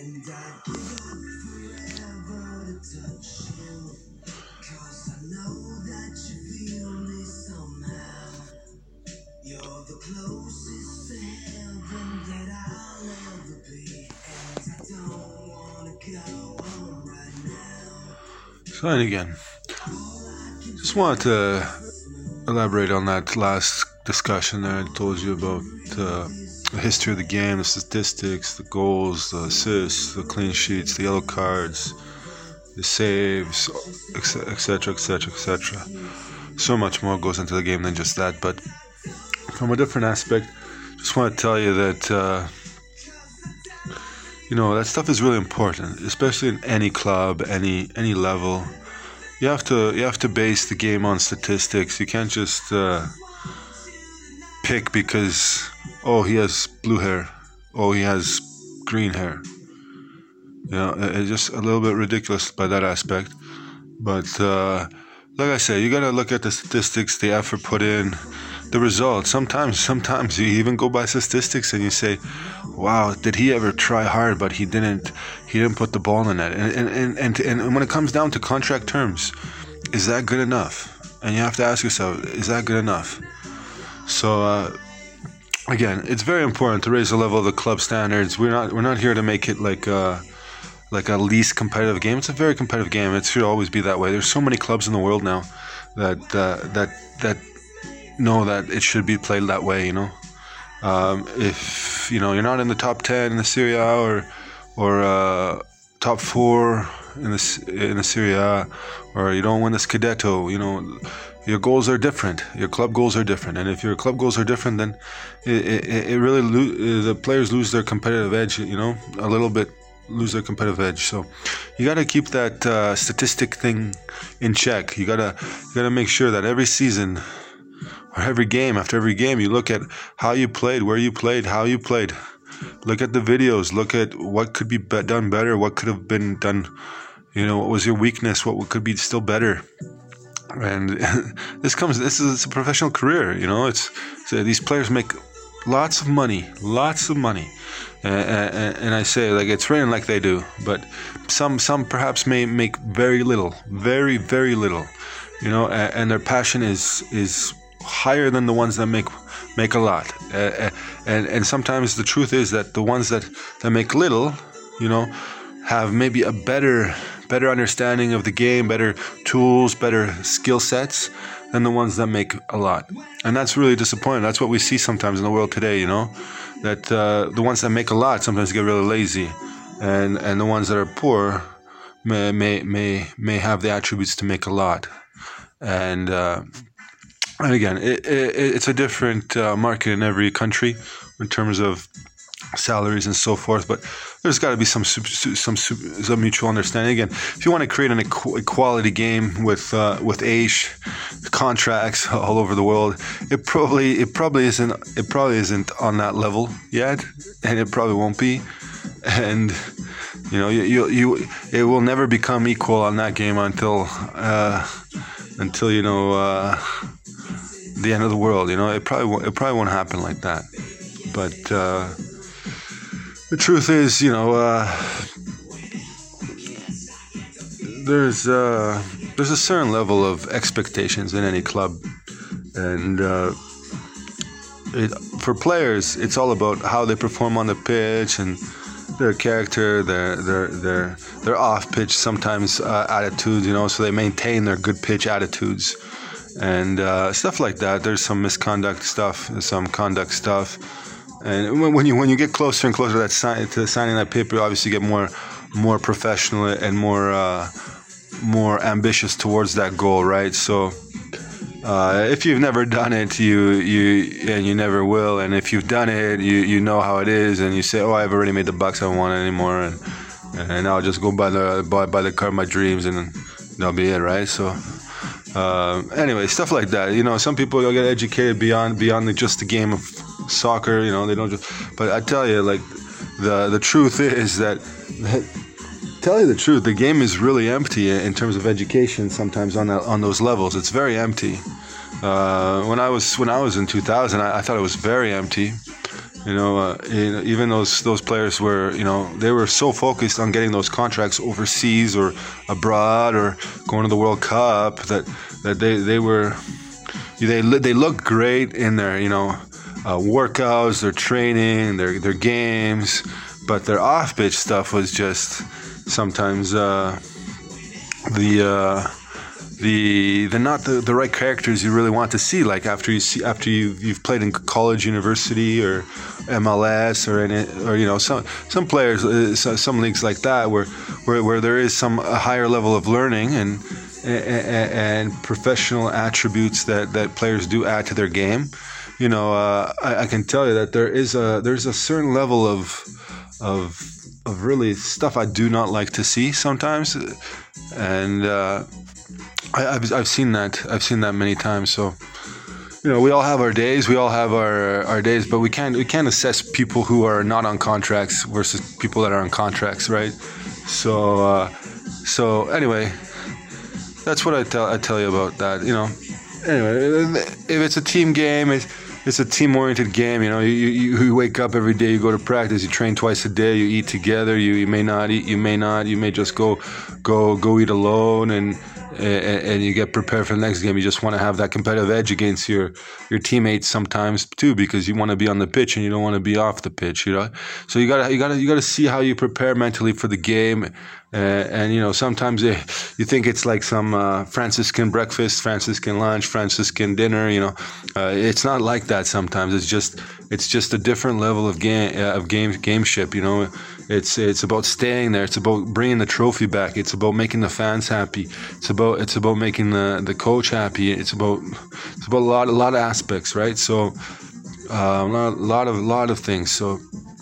So, and again, just wanted to elaborate on that last discussion that I told you about the history of the game, the statistics, the goals, the assists, the clean sheets, the yellow cards, the saves, etc., etc., etc. So much more goes into the game than just that, but from a different aspect, just want to tell you that that stuff is really important, especially in any club, any level. You have to base the game on statistics. You can't just pick because he has blue hair, he has green hair. It's just a little bit ridiculous by that aspect. But like I said, you gotta look at the statistics, the effort put in, the results. Sometimes you even go by statistics and you say, wow, did he ever try hard, but he didn't put the ball in the net. And when it comes down to contract terms, is that good enough? And you have to ask yourself, is that good enough? So again, it's very important to raise the level of the club standards. We're not here to make it like a least competitive game. It's a very competitive game. It should always be that way. There's so many clubs in the world now that know that it should be played that way. If you're not in the top 10 in the Serie A or top 4 in the Serie A, or you don't win the Scudetto, your goals are different. Your club goals are different, and if your club goals are different, then it really the players lose their competitive edge. A little bit lose their competitive edge. So you got to keep that statistic thing in check. You gotta make sure that every season or every game, after every game, you look at how you played, where you played, how you played. Look at the videos. Look at what could be done better, what could have been done. What was your weakness? What could be still better? And this is a professional career. These players make lots of money, and I say it's raining like they do, but some perhaps may make very little, very, very little. And their passion is higher than the ones that make a lot. And sometimes the truth is that the ones that make little, have maybe a better understanding of the game, better tools, better skill sets than the ones that make a lot. And that's really disappointing. That's what we see sometimes in the world today, that the ones that make a lot sometimes get really lazy, and the ones that are poor may have the attributes to make a lot. And again, it's a different market in every country in terms of salaries and so forth, but there's got to be some mutual understanding. Again, if you want to create an equality game with age contracts all over the world, it probably isn't on that level yet, and it probably won't be. And it will never become equal on that game until the end of the world. It probably won't happen like that. But the truth is, there's a certain level of expectations in any club, and for players, it's all about how they perform on the pitch and their character, their off-pitch sometimes attitudes, so they maintain their good pitch attitudes and stuff like that. There's some misconduct stuff, some conduct stuff. And when you get closer and closer to signing that paper, you obviously get more professional and more ambitious towards that goal, right? So if you've never done it, you never will, and if you've done it, you know how it is, and you say, I've already made the bucks, I don't want it anymore, and I'll just go buy the car of my dreams, and that'll be it, right? So anyway, stuff like that. Some people get educated beyond just the game of soccer. They don't just. But I tell you, the truth is that. Tell you the truth, the game is really empty in terms of education. Sometimes on those levels, it's very empty. When I was in 2000, I thought it was very empty, Even those players were, they were so focused on getting those contracts overseas or abroad or going to the World Cup that they looked great in their workouts, their training, their games, but their off pitch stuff was just sometimes they're not the right characters you really want to see. Like after you've played in college, university, or MLS, or some players, some leagues like that where there is a higher level of learning and professional attributes that players do add to their game. I can tell you that there's a certain level of really stuff I do not like to see sometimes, and I've seen that many times. So we all have our days, but we can't assess people who are not on contracts versus people that are on contracts, right? So anyway, that's what I tell you about that. Anyway, if it's a team game, it's a team-oriented game. You wake up every day, you go to practice, you train twice a day, you eat together. You may not eat, you may just go eat alone, and you get prepared for the next game. You just want to have that competitive edge against your teammates sometimes too, because you want to be on the pitch and you don't want to be off the pitch. So you gotta see how you prepare mentally for the game. And sometimes you think it's like some Franciscan breakfast, Franciscan lunch, Franciscan dinner. It's not like that. Sometimes it's just a different level of gameship. It's about staying there. It's about bringing the trophy back. It's about making the fans happy. It's about making the coach happy. It's about a lot of aspects, right? So a lot of things. So